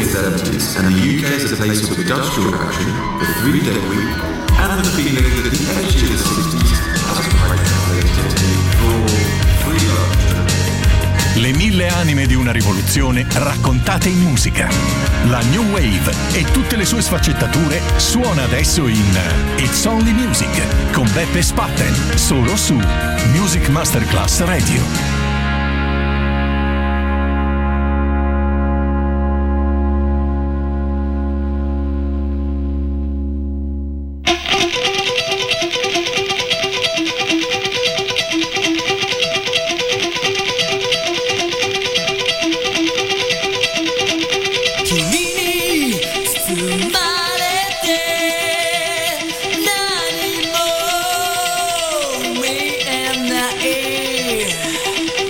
mid-70s, and the UK is a place of industrial action, the 3-day week, and the feeling that the edge of the 60s has quite translated for free love. Le 1000 anime di una rivoluzione raccontate in musica. La New Wave e tutte le sue sfaccettature suona adesso in It's Only Music con Beppe Spatten, solo su Music Masterclass Radio. Yeah.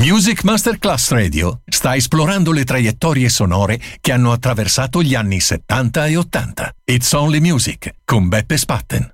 Music Masterclass Radio sta esplorando le traiettorie sonore che hanno attraversato gli anni 70 e 80. It's Only Music con Beppe Spatten.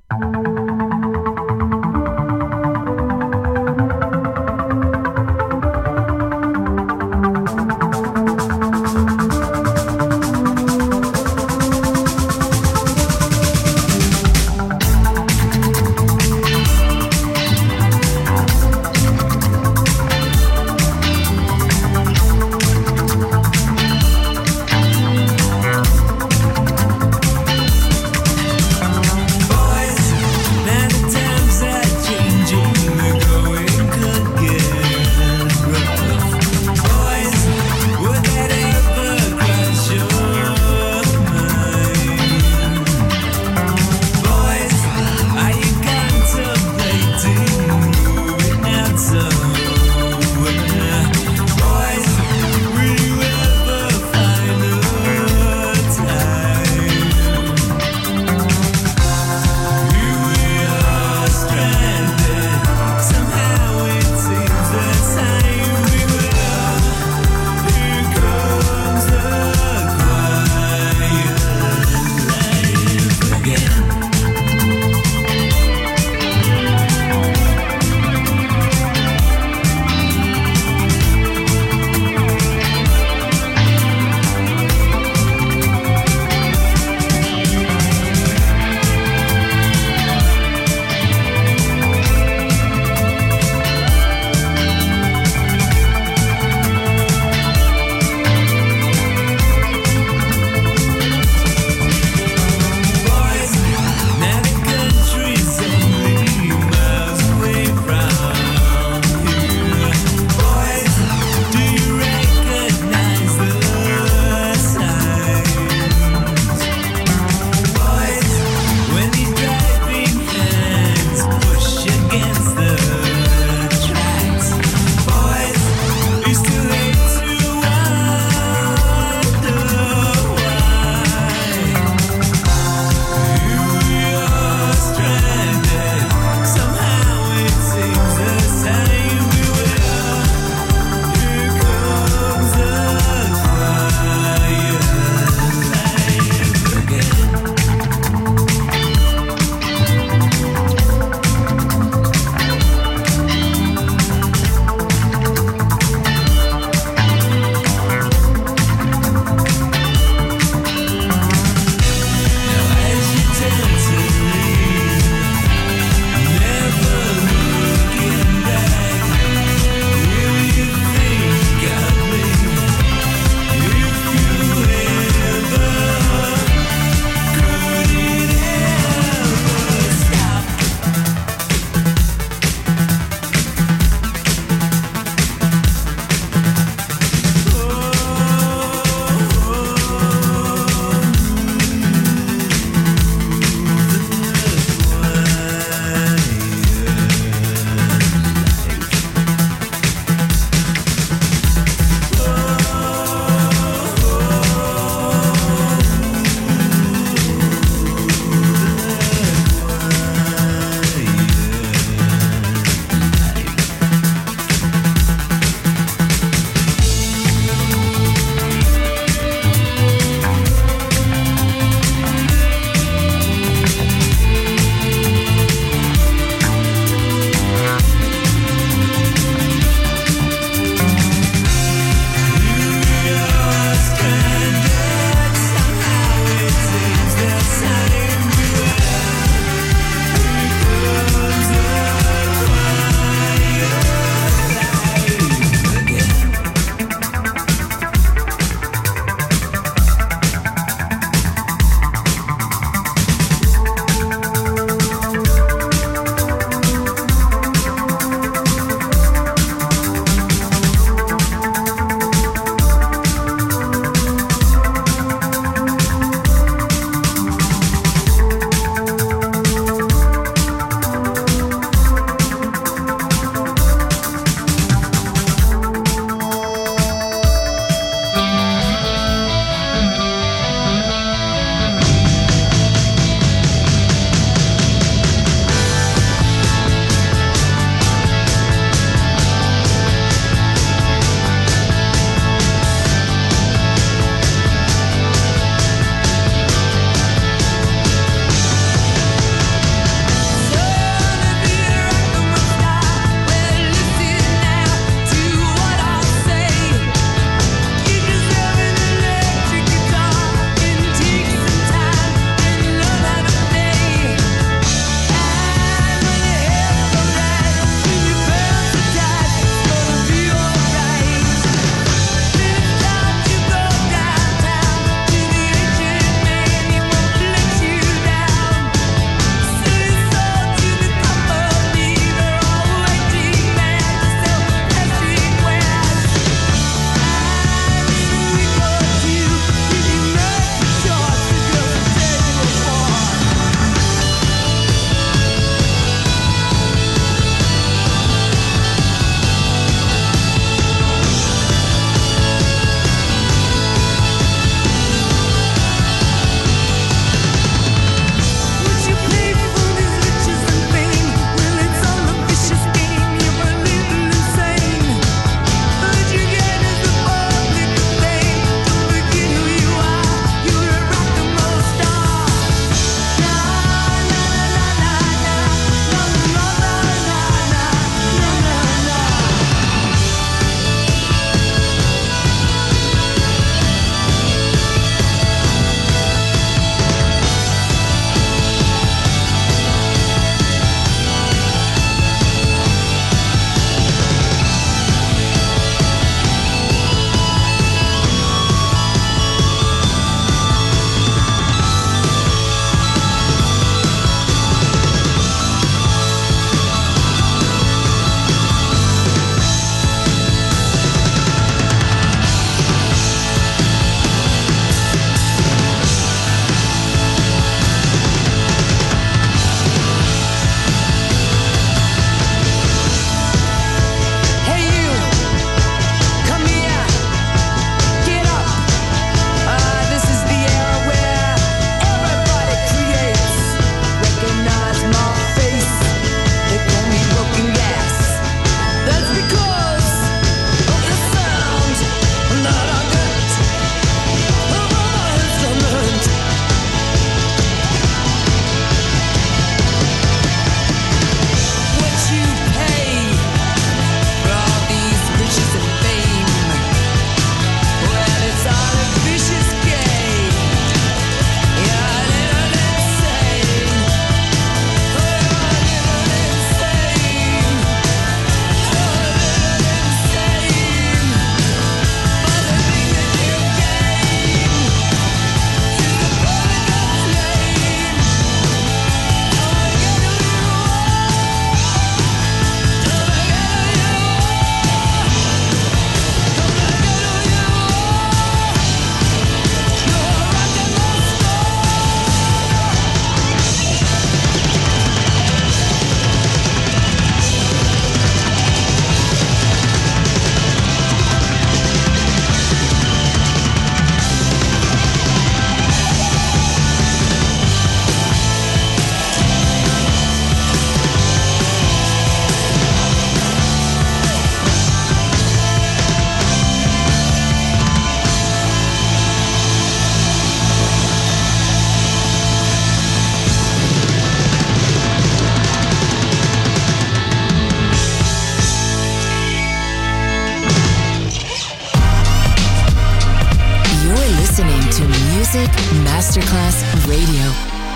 Music Masterclass Radio.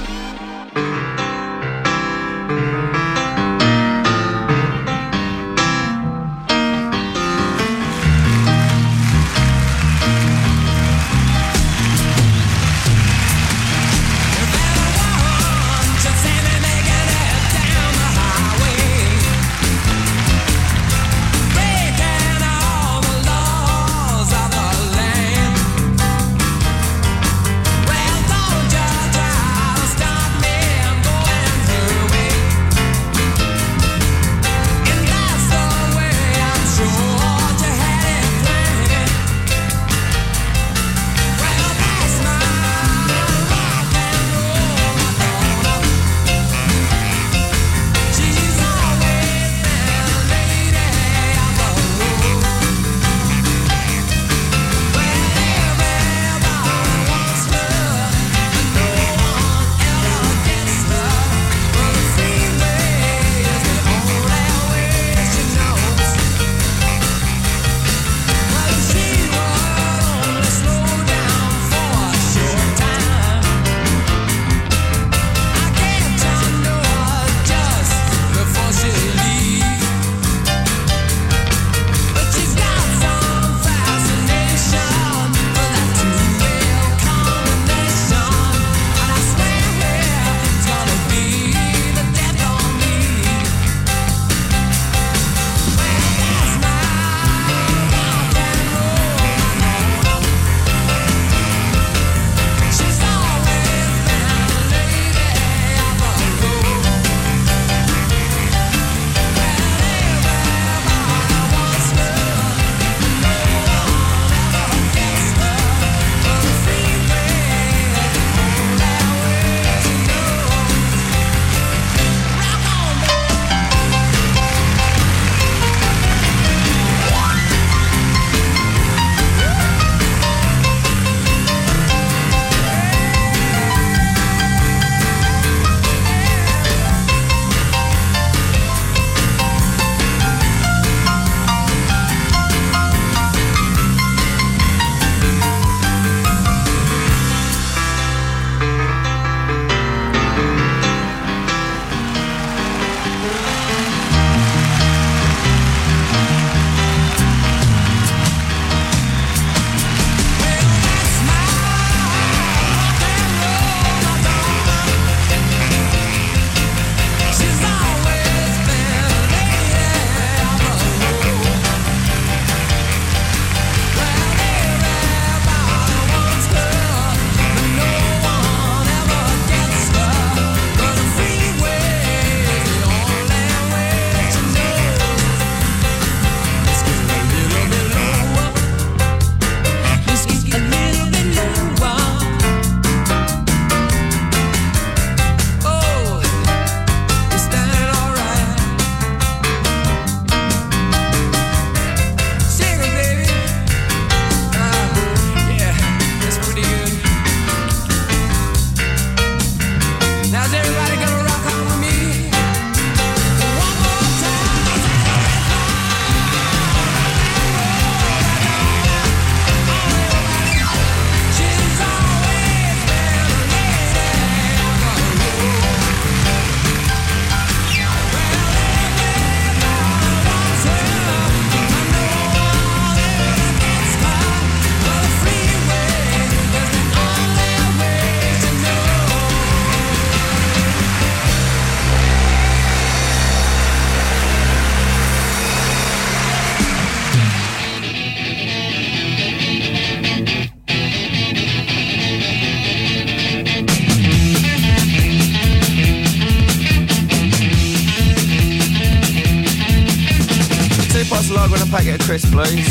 lager and a packet of crisps, please.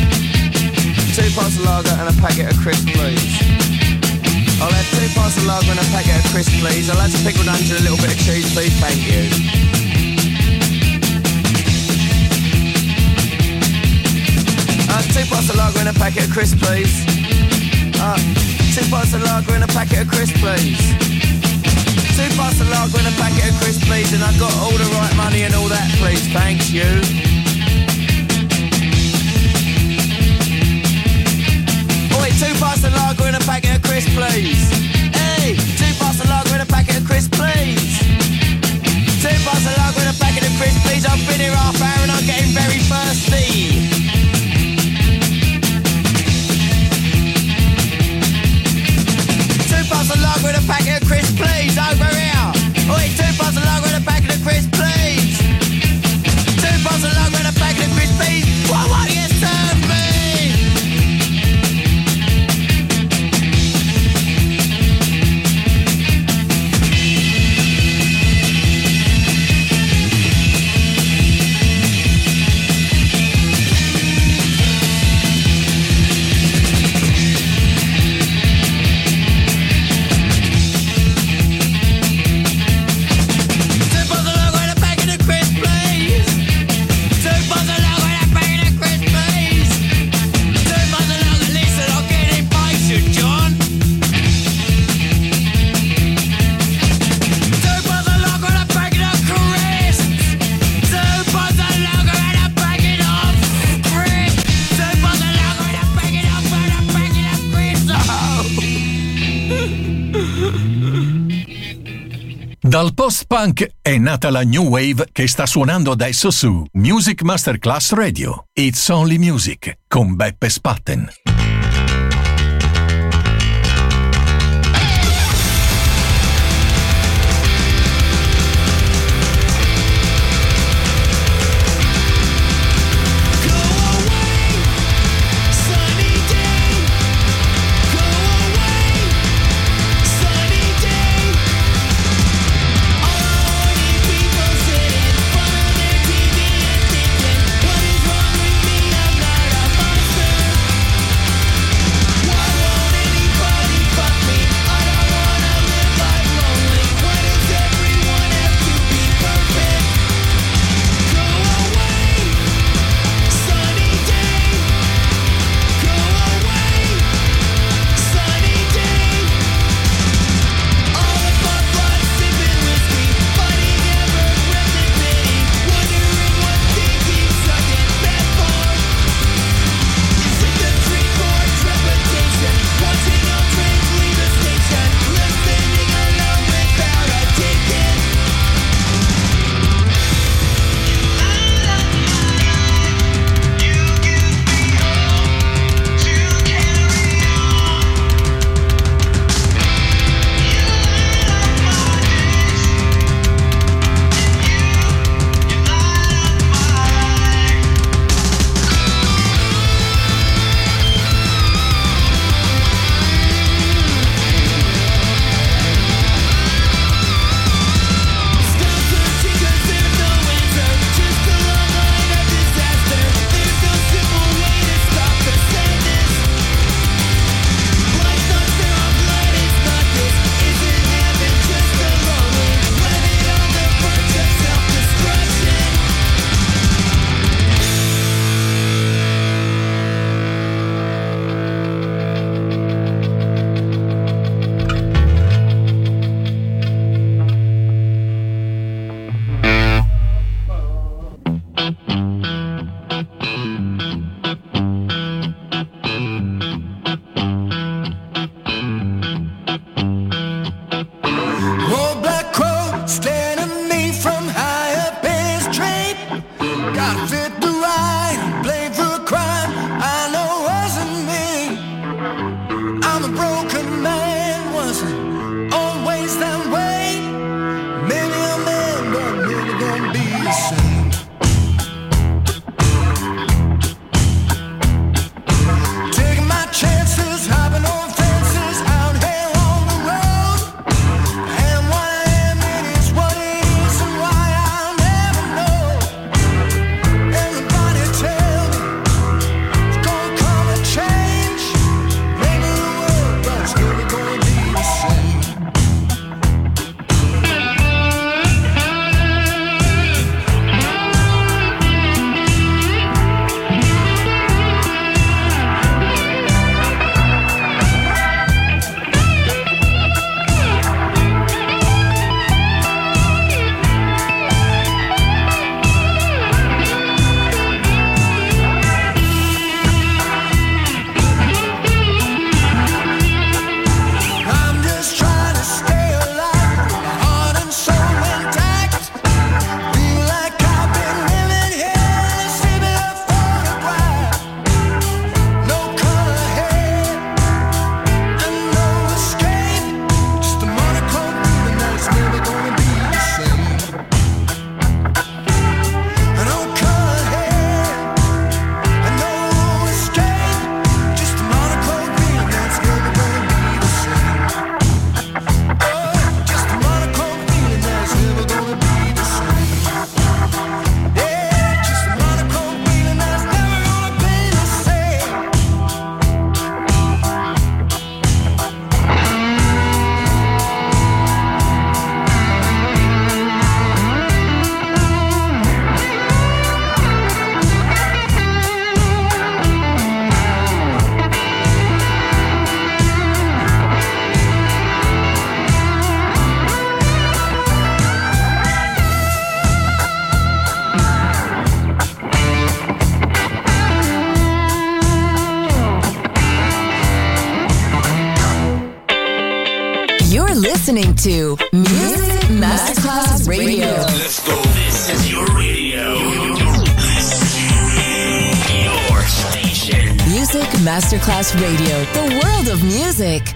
2 pints of lager and a packet of crisps, please. I'll have 2 pints of lager and a packet of crisps, please. I'll have some pickled onions and a little bit of cheese, please. Thank you. 2 pints of lager and a packet of crisps, please. 2 pints of lager and a packet of crisps, please. 2 pints of lager and a packet of crisps, please. And I've got all the right money and all that, please. Thanks, you. Oi, 2 pints of lager and a packet of crisps, please. Dal post-punk è nata la New Wave che sta suonando adesso su Music Masterclass Radio. It's Only Music con Beppe Spatten. Listening to Music Masterclass Radio. Let's go. This is your radio. Your station. Music Masterclass Radio. The world of music.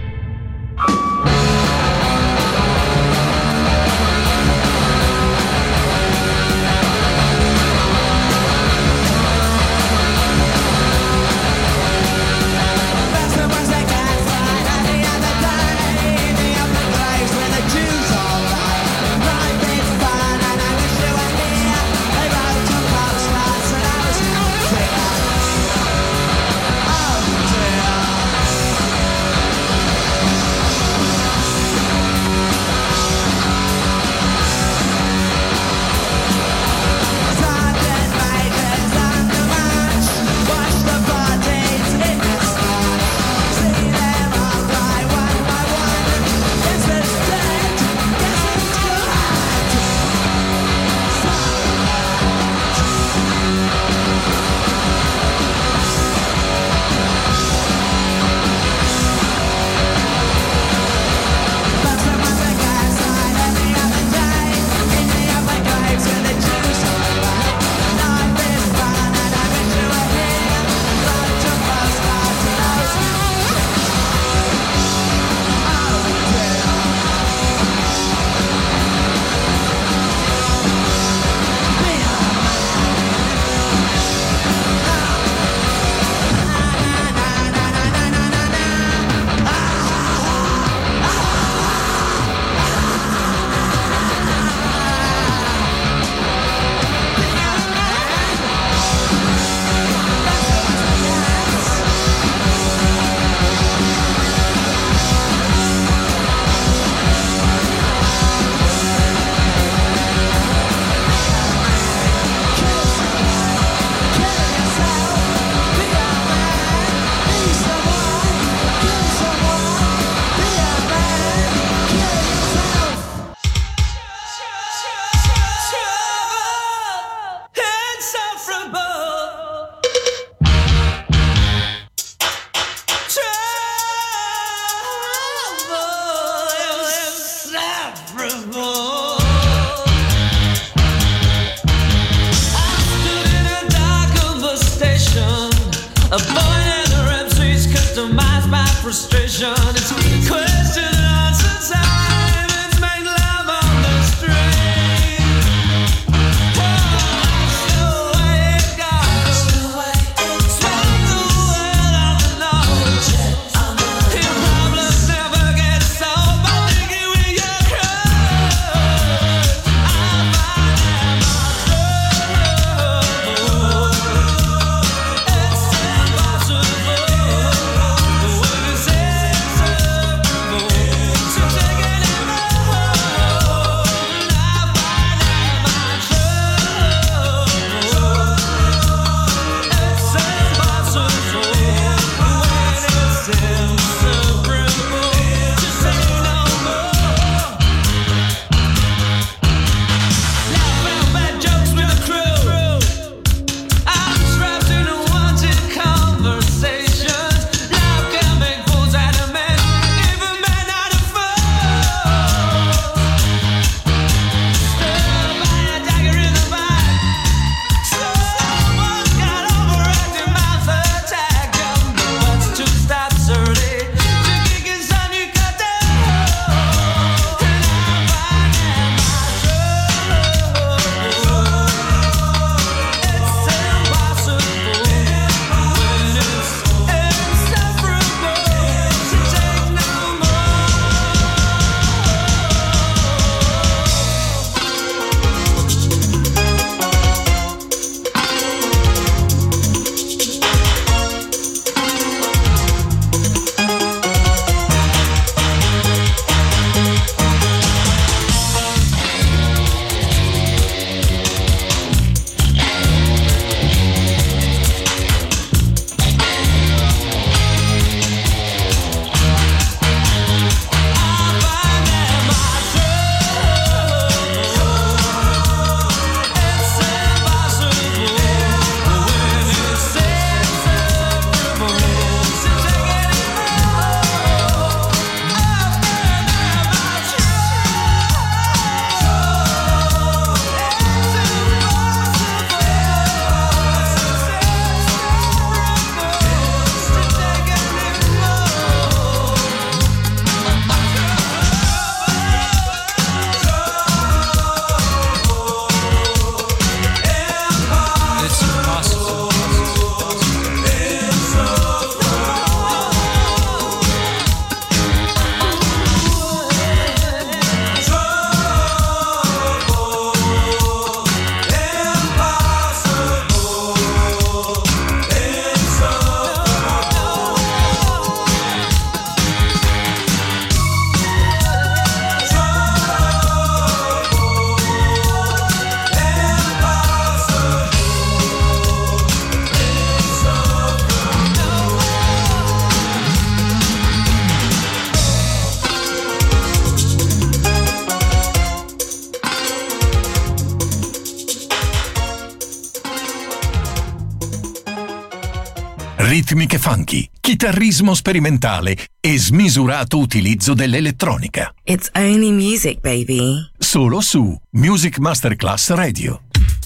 ritmiche funky, chitarrismo sperimentale e smisurato utilizzo dell'elettronica. It's only music, baby. Solo su Music Masterclass Radio.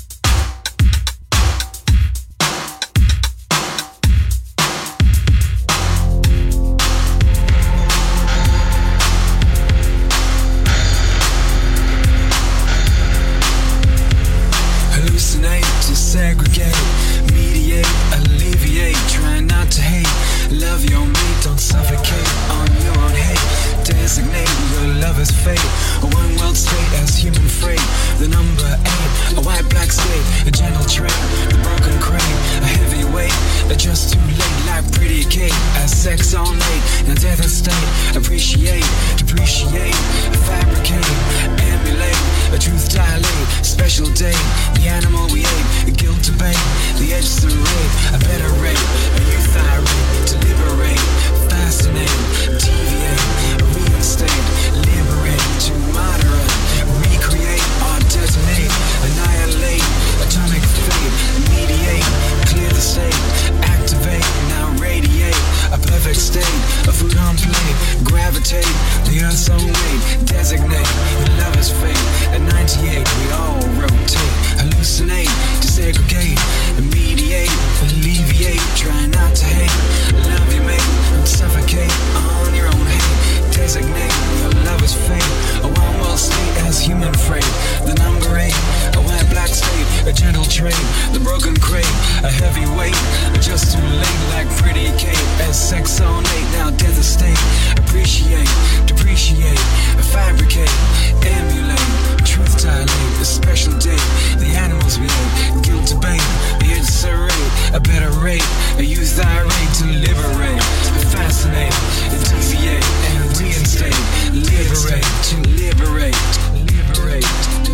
Hallucinate to segregate, mediate, alleviate, try not to hate, love your mate, don't suffocate on your own hate, designate your lover's fate, a one world state as human freight, the number 8, a white black state, a gentle trait, the broken crane, a heavy weight, just too late like pretty Kate, as sex all night, now death and state, appreciate, depreciate, fabricate, emulate, a truth dilate, special day, the animal we ate, guilt debate, the edge to rape, a better rate, a youth irate, to liberate, fascinate, deviate, reinstate, liberate, to moderate, recreate, or detonate, annihilate, atomic fate, mediate, clear the state, activate, now radiate, a perfect state, a food on plate, gravitate, the earth's own weight, designate, your lover's fate, at 98 we all rotate, hallucinate, desegregate, mediate, alleviate, try not to hate, love your mate, don't suffocate on your own hate, designate, your lover's fate, a one world state as human freight, the number 8, a white black state, a gentle trait, the broken crate, a heavy weight, just too late like pretty Kate, as sex all night, now death estate, appreciate, depreciate, fabricate, emulate, truth dilate, a special day, the animals we ate, guilt debate, the inserate, a better rate, a youth irate to liberate, fascinate, deviate, and reinstate, liberate, to liberate, liberate.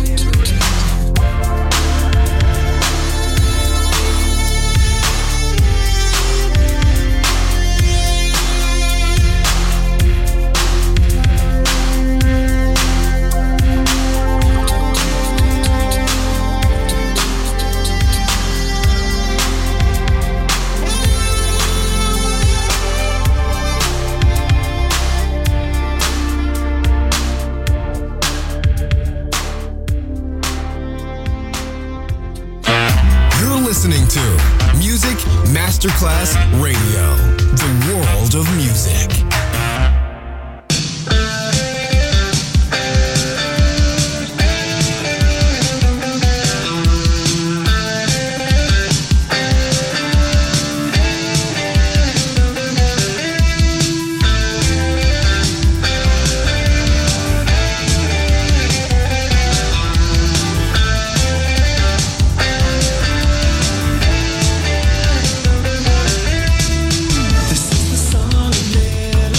Listening to Music Masterclass Radio, the world of music. This is the song of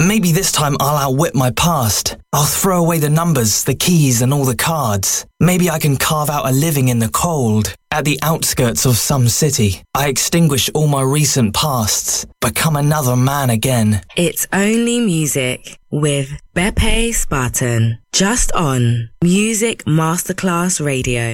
Maybe this time I'll outwit my past. I'll throw away the numbers, the keys, and all the cards. Maybe I can carve out a living in the cold. At the outskirts of some city, I extinguish all my recent pasts, become another man again. It's Only Music with Beppe Spartan. Just on Music Masterclass Radio.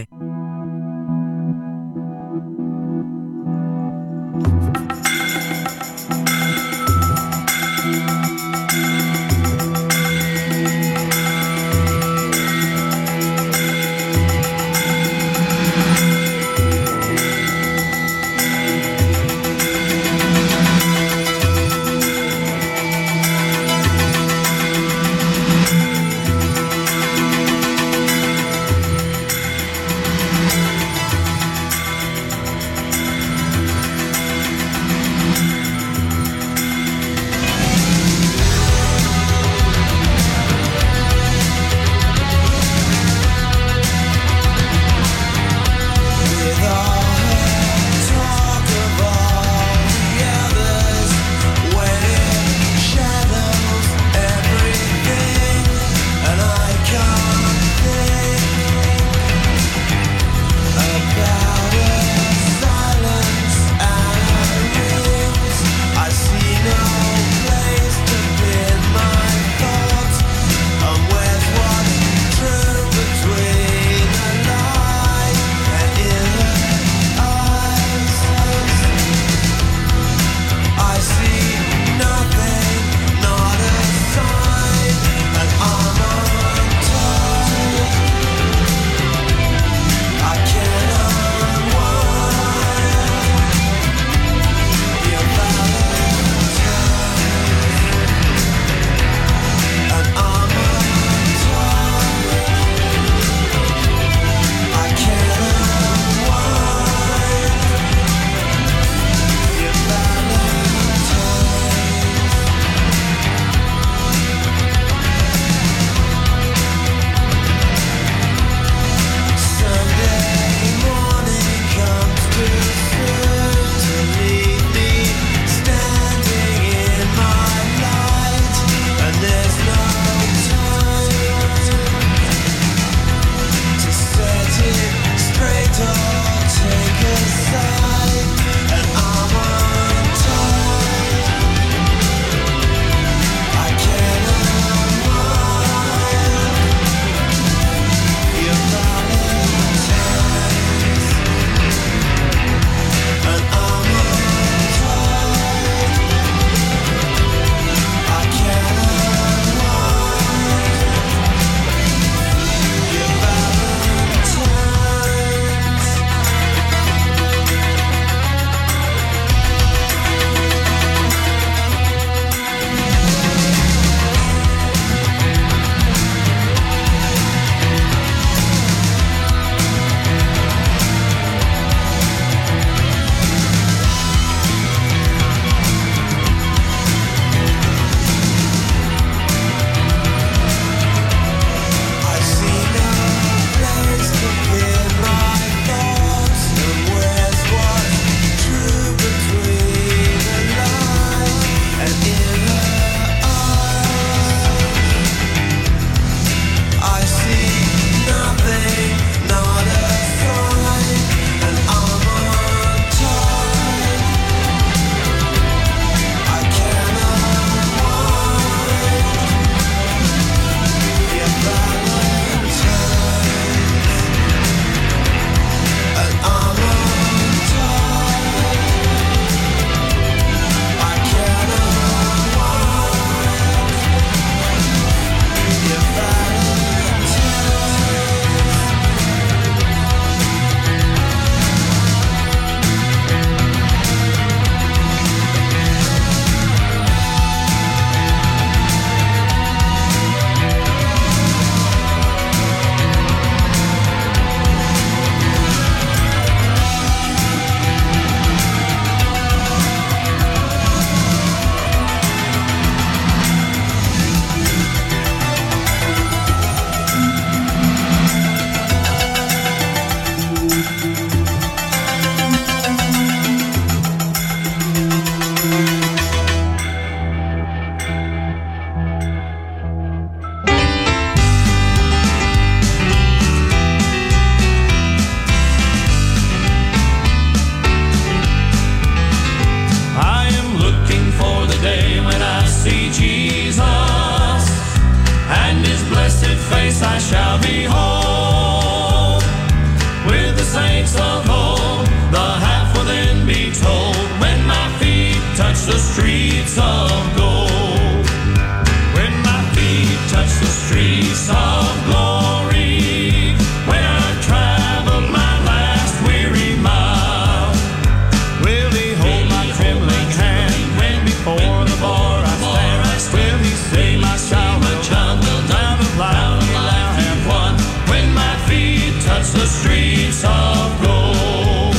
streets of gold. When my feet touch the streets of glory, when I travel my last weary mile, will He hold my trembling hand when before the bar I stand? Will He say my child will down the line I'll have won when my feet touch the streets of gold?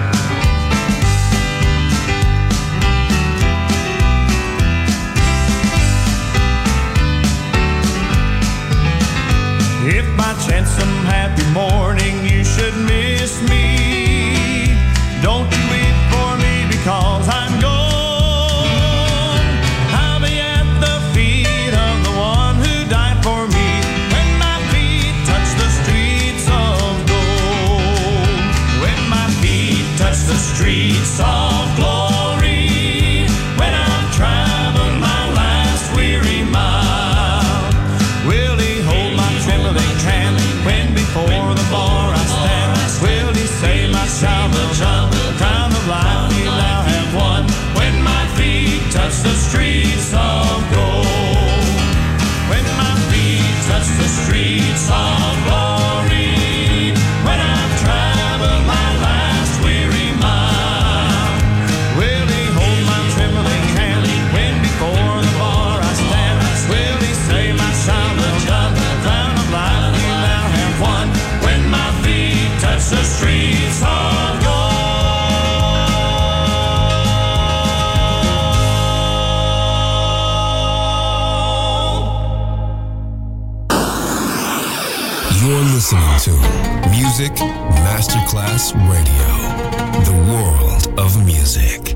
If by chance some happy morning you should miss me, don't you weep for me because I'm gone. I'll be at the feet of the one who died for me when my feet touch the streets of gold. When my feet touch the streets of glory, when I've traveled my last weary mile, will He hold my trembling hand when before the bar I stand? Will He say my child will jump the crown of life we now have won when my feet touch the streets of gold? When my feet touch the streets of glory, when I've traveled my last weary mile, will He hold my trembling hand when before the bar I stand? Will He say my child will jump the crown of life we now have won when my feet touch the streets of gold? You're listening to Music Masterclass Radio, the world of music.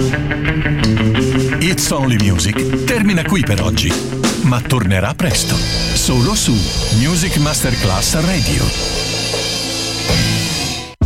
It's Only Music termina qui per oggi, ma tornerà presto, solo su Music Masterclass Radio.